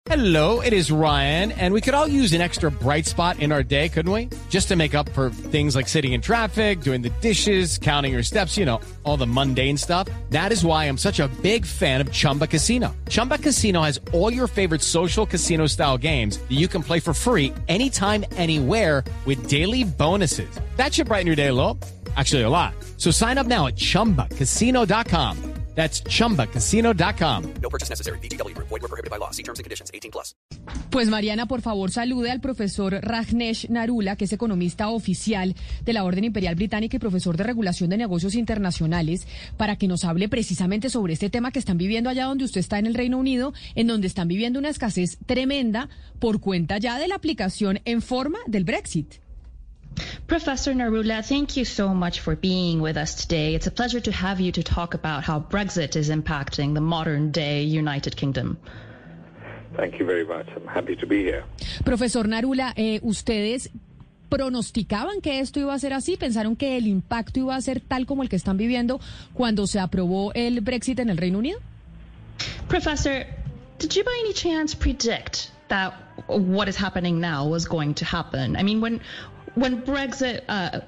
Hello, it is Ryan, and we could all use an extra bright spot in our day, couldn't we? Just to make up for things like sitting in traffic, doing the dishes, counting your steps, you know, all the mundane stuff. That is why I'm such a big fan of Chumba Casino. Chumba Casino has all your favorite social casino-style games that you can play for free anytime, anywhere with daily bonuses. That should brighten your day a little. Actually, a lot. So sign up now at ChumbaCasino.com. That's ChumbaCasino.com. No purchase necessary. VGW Group. Void where prohibited by law. See terms and conditions. 18+. Pues Mariana, por favor, salude al profesor Rajneesh Narula, que es economista oficial de la Orden Imperial Británica y profesor de Regulación de Negocios Internacionales, para que nos hable precisamente sobre este tema que están viviendo allá donde usted está en el Reino Unido, en donde están viviendo una escasez tremenda por cuenta ya de la aplicación en forma del Brexit. Professor Narula, thank you so much for being with us today. It's a pleasure to have you to talk about how Brexit is impacting the modern-day United Kingdom. Thank you very much. I'm happy to be here. Profesor Narula, ¿ustedes pronosticaban que esto iba a ser así? ¿Pensaron que el impacto iba a ser tal como el que están viviendo cuando se aprobó el Brexit en el Reino Unido? Professor, did you by any chance predict that what is happening now was going to happen? I mean, when Brexit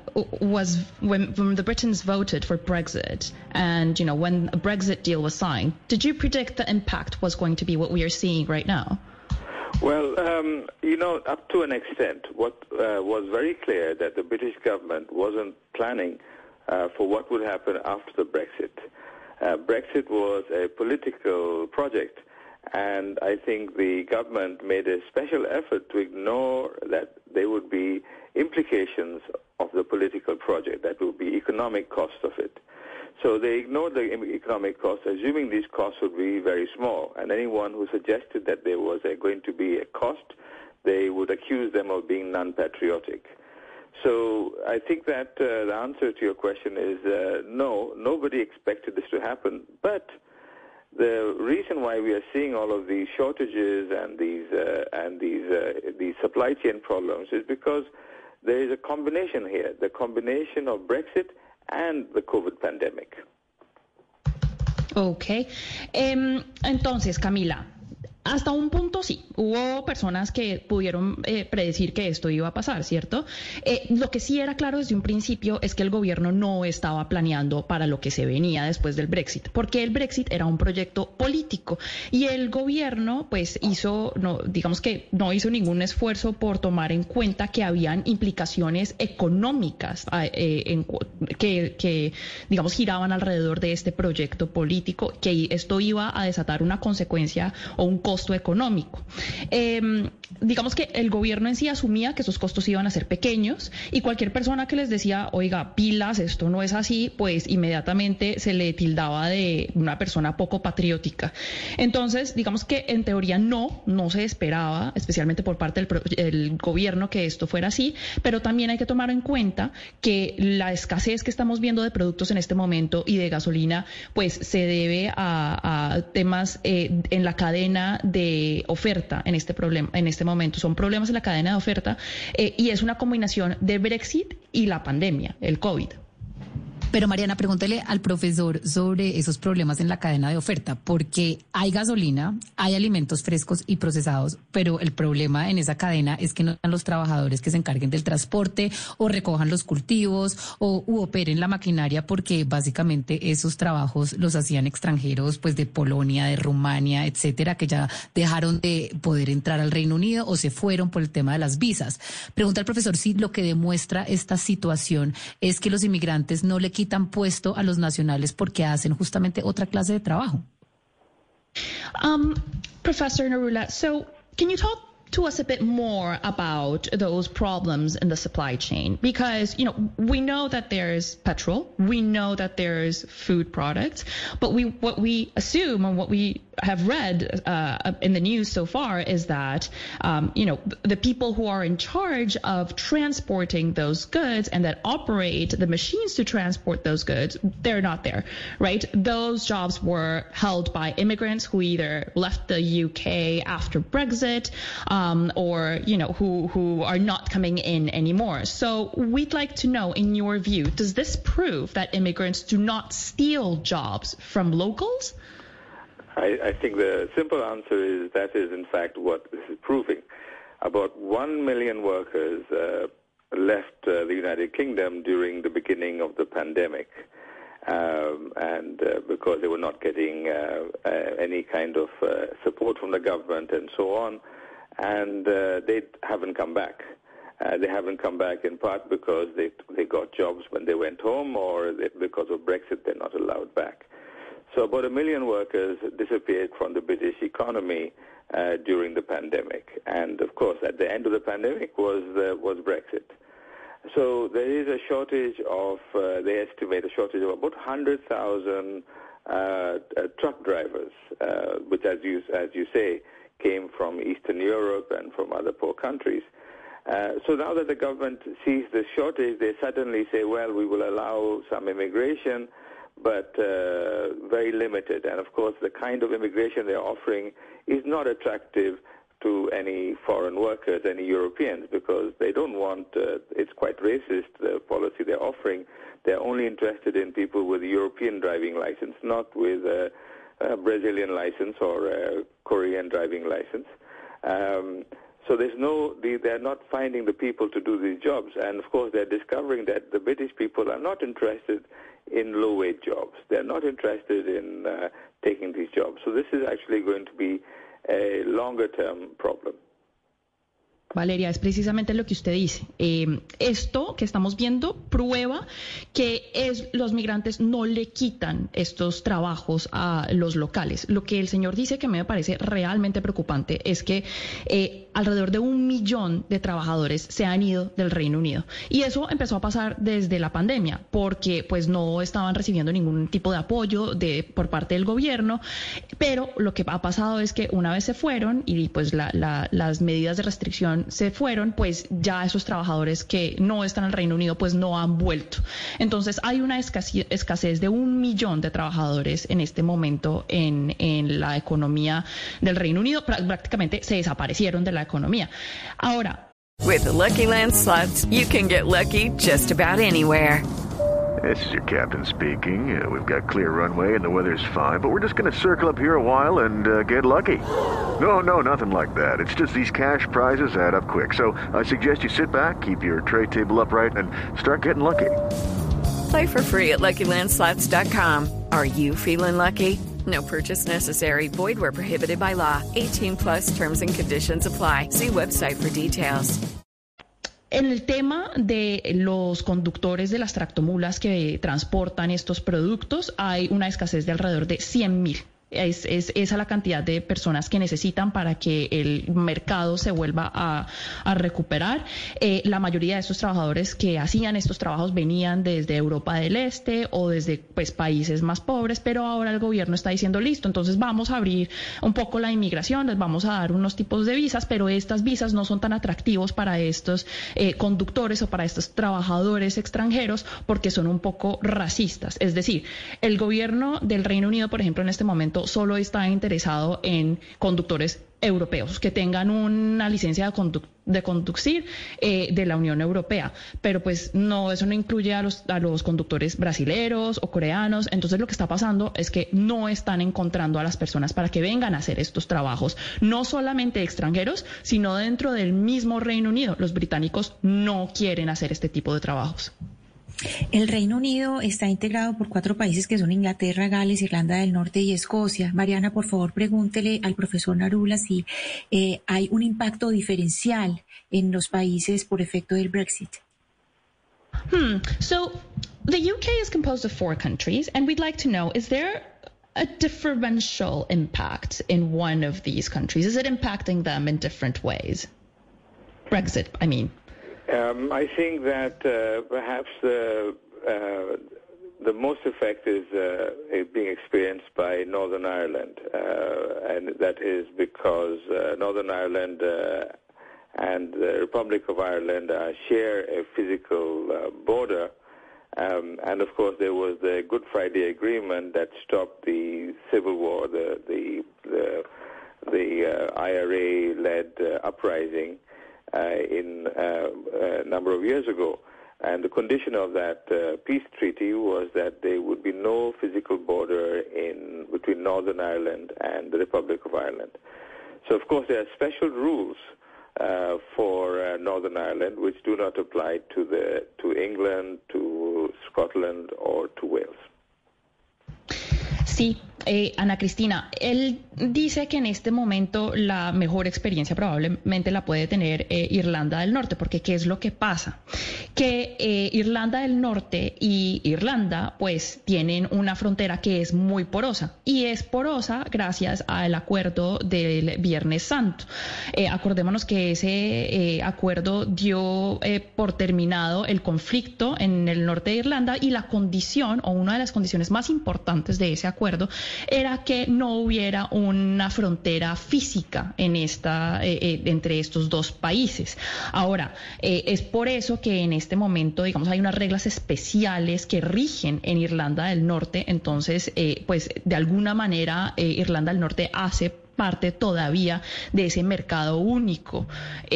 when the Britons voted for Brexit, and when a Brexit deal was signed, did you predict the impact was going to be what we are seeing right now? Well, up to an extent, what was very clear that the British government wasn't planning for what would happen after the Brexit. Brexit was a political project, and I think the government made a special effort to ignore that there would be implications of the political project, that would be economic cost of it. So they ignored the economic costs, assuming these costs would be very small. And anyone who suggested that there was going to be a cost, they would accuse them of being non-patriotic. So I think that the answer to your question is no, nobody expected this to happen. But the reason why we are seeing all of these shortages and these supply chain problems is because there is a combination here, the combination of Brexit and the COVID pandemic. Okay. Entonces, Camila, hasta un punto sí, hubo personas que pudieron predecir que esto iba a pasar, ¿cierto? Lo que sí era claro desde un principio es que el gobierno no estaba planeando para lo que se venía después del Brexit, porque el Brexit era un proyecto político y el gobierno pues no hizo ningún esfuerzo por tomar en cuenta que habían implicaciones económicas que giraban alrededor de este proyecto político, que esto iba a desatar una consecuencia o un costo económico. Digamos que el gobierno en sí asumía que esos costos iban a ser pequeños y cualquier persona que les decía, oiga, pilas, esto no es así, pues inmediatamente se le tildaba de una persona poco patriótica. Entonces, digamos que en teoría no se esperaba, especialmente por parte del gobierno, que esto fuera así, pero también hay que tomar en cuenta que la escasez que estamos viendo de productos en este momento y de gasolina, pues se debe a temas en la cadena de oferta en este momento. Son problemas en la cadena de oferta y es una combinación de Brexit y la pandemia, el COVID. Pero Mariana, pregúntele al profesor sobre esos problemas en la cadena de oferta, porque hay gasolina, hay alimentos frescos y procesados, pero el problema en esa cadena es que no están los trabajadores que se encarguen del transporte o recojan los cultivos u operen la maquinaria, porque básicamente esos trabajos los hacían extranjeros, pues de Polonia, de Rumania, etcétera, que ya dejaron de poder entrar al Reino Unido o se fueron por el tema de las visas. Pregunta al profesor si lo que demuestra esta situación es que los inmigrantes no le quitan puesto a los nacionales porque hacen justamente otra clase de trabajo. Professor Narula, so can you talk to us a bit more about those problems in the supply chain? Because, we know that there's petrol, we know that there's food products, but what we assume and what we have read in the news so far is that, the people who are in charge of transporting those goods and that operate the machines to transport those goods, they're not there, right? Those jobs were held by immigrants who either left the UK after Brexit, or, who are not coming in anymore. So we'd like to know, in your view, does this prove that immigrants do not steal jobs from locals? I think the simple answer is that is in fact what this is proving. About 1 million workers left the United Kingdom during the beginning of the pandemic, and because they were not getting any kind of support from the government and so on, and they haven't come back. They haven't come back in part because they got jobs when they went home, or because of Brexit they're not allowed back. So about 1 million workers disappeared from the British economy during the pandemic, and of course at the end of the pandemic was Brexit. So there is a shortage of, they estimate a shortage of about 100,000 truck drivers, which as you say came from Eastern Europe and from other poor countries. So now that the government sees the shortage, they suddenly say, well, we will allow some immigration, but very limited. And, of course, the kind of immigration they're offering is not attractive to any foreign workers, any Europeans, because they don't want, it's quite racist, the policy they're offering. They're only interested in people with a European driving license, not with a Brazilian license or a Korean driving license. So they're not finding the people to do these jobs. And, of course, they're discovering that the British people are not interested in low-wage jobs. They're not interested in taking these jobs. So this is actually going to be a longer-term problem. Valeria, es precisamente lo que usted dice. Esto que estamos viendo prueba que los migrantes no le quitan estos trabajos a los locales. Lo que el señor dice, que me parece realmente preocupante, es que alrededor de 1 millón de trabajadores se han ido del Reino Unido. Y eso empezó a pasar desde la pandemia, porque pues no estaban recibiendo ningún tipo de apoyo por parte del gobierno. Pero lo que ha pasado es que una vez se fueron y pues las medidas de restricción se fueron, pues ya esos trabajadores que no están en el Reino Unido pues no han vuelto. Entonces hay una escasez de 1 millón de trabajadores en este momento en la economía del Reino Unido. Prácticamente se desaparecieron de la economía. Ahora, With the Lucky Land Slots, you can get lucky just about anywhere. This is your captain speaking. We've got clear runway and the weather's fine, but we're just going to circle up here a while and get lucky. No, nothing like that. It's just these cash prizes add up quick. So I suggest you sit back, keep your tray table upright, and start getting lucky. Play for free at LuckyLandSlots.com. Are you feeling lucky? No purchase necessary. Void where prohibited by law. 18 plus terms and conditions apply. See website for details. En el tema de los conductores de las tractomulas que transportan estos productos, hay una escasez de alrededor de 100,000. Es esa la cantidad de personas que necesitan para que el mercado se vuelva a recuperar. La mayoría de estos trabajadores que hacían estos trabajos venían desde Europa del Este o desde países más pobres, pero ahora el gobierno está diciendo, listo, entonces vamos a abrir un poco la inmigración, les vamos a dar unos tipos de visas, pero estas visas no son tan atractivos para estos conductores o para estos trabajadores extranjeros porque son un poco racistas. Es decir, el gobierno del Reino Unido, por ejemplo, en este momento solo está interesado en conductores europeos que tengan una licencia de conducir de la Unión Europea, pero pues no, eso no incluye a los conductores brasileros o coreanos. Entonces lo que está pasando es que no están encontrando a las personas para que vengan a hacer estos trabajos, no solamente extranjeros, sino dentro del mismo Reino Unido. Los británicos no quieren hacer este tipo de trabajos. El Reino Unido está integrado por 4 países que son Inglaterra, Gales, Irlanda del Norte y Escocia. Mariana, por favor, pregúntele al profesor Narula si hay un impacto diferencial en los países por efecto del Brexit. So, the UK is composed of 4 countries, and we'd like to know, is there a differential impact in one of these countries? Is it impacting them in different ways? Brexit, I mean. I think that perhaps the most effect is being experienced by Northern Ireland, and that is because Northern Ireland and the Republic of Ireland share a physical border, and of course there was the Good Friday Agreement that stopped the civil war, the IRA-led uprising in a number of years ago. And the condition of that peace treaty was that there would be no physical border between Northern Ireland and the Republic of Ireland. So, of course, there are special rules for Northern Ireland which do not apply to England, to Scotland, or to Wales. Sí, Ana Cristina, él dice que en este momento la mejor experiencia probablemente la puede tener Irlanda del Norte, porque ¿qué es lo que pasa? Que Irlanda del Norte y Irlanda pues tienen una frontera que es muy porosa, y es porosa gracias al acuerdo del Viernes Santo. Acordémonos que ese acuerdo dio por terminado el conflicto en el norte de Irlanda, y la condición, o una de las condiciones más importantes de ese acuerdo, era que no hubiera una frontera física en entre estos dos países. Ahora, es por eso que en este momento, digamos, hay unas reglas especiales que rigen en Irlanda del Norte. Entonces, pues de alguna manera Irlanda del Norte hace parte todavía de ese mercado único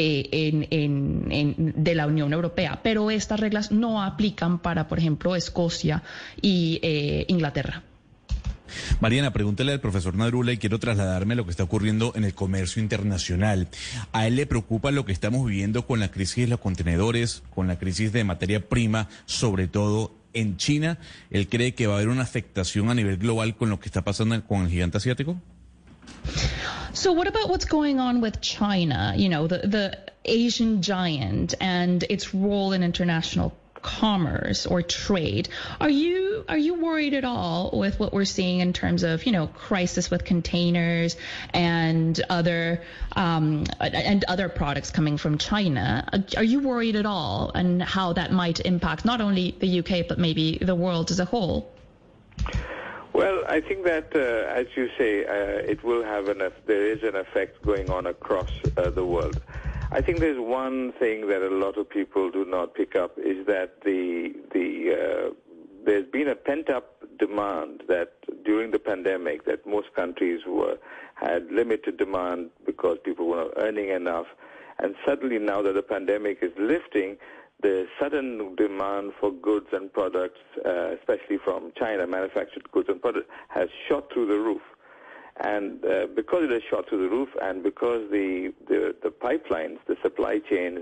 de la Unión Europea, pero estas reglas no aplican para, por ejemplo, Escocia y Inglaterra. Mariana, pregúntale al profesor Narula, y quiero trasladarme a lo que está ocurriendo en el comercio internacional. ¿A él le preocupa lo que estamos viviendo con la crisis de los contenedores, con la crisis de materia prima, sobre todo en China? ¿Él cree que va a haber una afectación a nivel global con lo que está pasando con el gigante asiático? So what about what's going on with China, you know, the Asian giant, and its role in international commerce or trade? Are you worried at all with what we're seeing in terms of, you know, crisis with containers and other products coming from China? Are you worried at all, and how that might impact not only the UK but maybe the world as a whole? Well, I think that, as you say, it will have there is an effect going on across the world. I think there's one thing that a lot of people do not pick up, is that there's been a pent-up demand that during the pandemic that most countries had limited demand because people were not earning enough, and suddenly now that the pandemic is lifting, the sudden demand for goods and products, especially from China, manufactured goods and products, has shot through the roof. And because it has shot through the roof, and because the pipelines, the supply chains,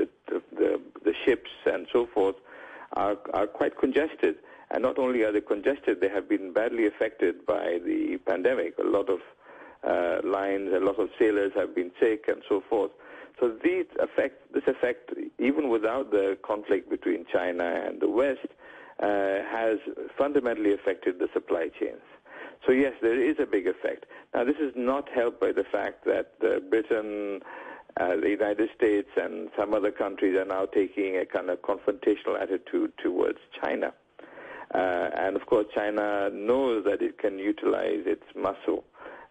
the ships and so forth are quite congested. And not only are they congested, they have been badly affected by the pandemic. A lot of lines, a lot of sailors have been sick and so forth. So this effect, even without the conflict between China and the West, has fundamentally affected the supply chains. So yes, there is a big effect. Now, this is not helped by the fact that Britain, the United States, and some other countries are now taking a kind of confrontational attitude towards China. And of course, China knows that it can utilize its muscle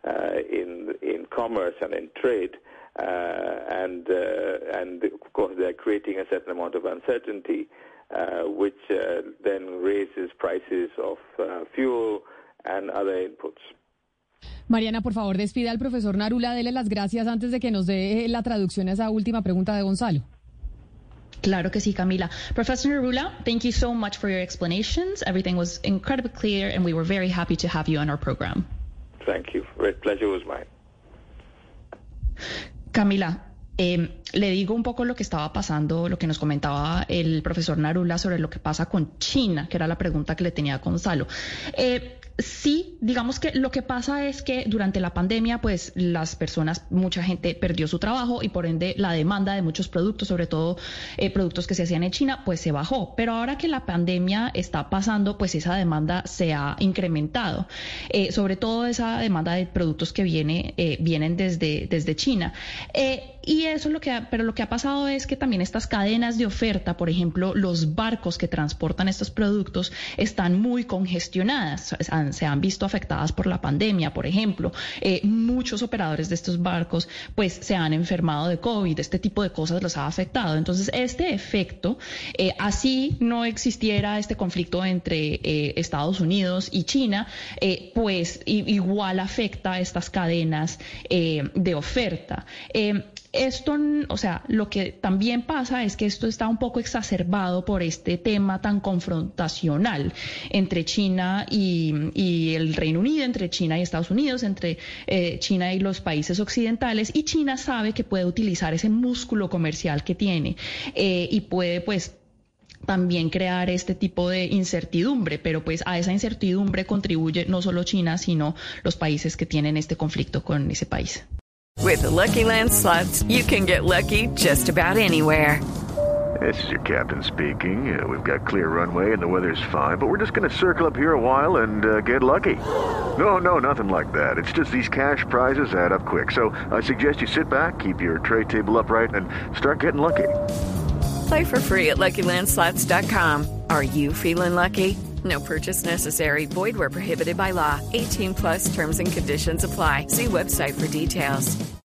in commerce and in trade. And of course, they're creating a certain amount of uncertainty, which then raises prices of fuel and other inputs. Mariana, por favor, despida al profesor Narula, dele las gracias antes de que nos dé la traducción a esa última pregunta de Gonzalo. Claro que sí, Camila. Professor Narula, thank you so much for your explanations. Everything was incredibly clear, and we were very happy to have you on our program. Thank you. The pleasure was mine. Camila, le digo un poco lo que estaba pasando, lo que nos comentaba el profesor Narula sobre lo que pasa con China, que era la pregunta que le tenía a Gonzalo. Sí, digamos que lo que pasa es que durante la pandemia, pues las personas, mucha gente perdió su trabajo, y por ende la demanda de muchos productos, sobre todo productos que se hacían en China, pues se bajó. Pero ahora que la pandemia está pasando, pues esa demanda se ha incrementado, sobre todo esa demanda de productos que vienen desde China. Y eso lo que ha pasado es que también estas cadenas de oferta, por ejemplo, los barcos que transportan estos productos, están muy congestionadas, se han visto afectadas por la pandemia. Por ejemplo, muchos operadores de estos barcos pues se han enfermado de COVID, este tipo de cosas los ha afectado. Entonces, este efecto, así no existiera este conflicto entre Estados Unidos y China, pues igual afecta a estas cadenas de oferta. Esto, o sea, lo que también pasa es que esto está un poco exacerbado por este tema tan confrontacional entre China y el Reino Unido, entre China y Estados Unidos, entre China y los países occidentales, y China sabe que puede utilizar ese músculo comercial que tiene y puede, pues, también crear este tipo de incertidumbre, pero pues a esa incertidumbre contribuye no solo China, sino los países que tienen este conflicto con ese país. With the Lucky Land Slots, you can get lucky just about anywhere. This is your captain speaking. We've got clear runway and the weather's fine, but we're just going to circle up here a while and get lucky. No, nothing like that. It's just these cash prizes add up quick. So I suggest you sit back, keep your tray table upright, and start getting lucky. Play for free at LuckyLandSlots.com. Are you feeling lucky? No purchase necessary. Void where prohibited by law. 18+ terms and conditions apply. See website for details.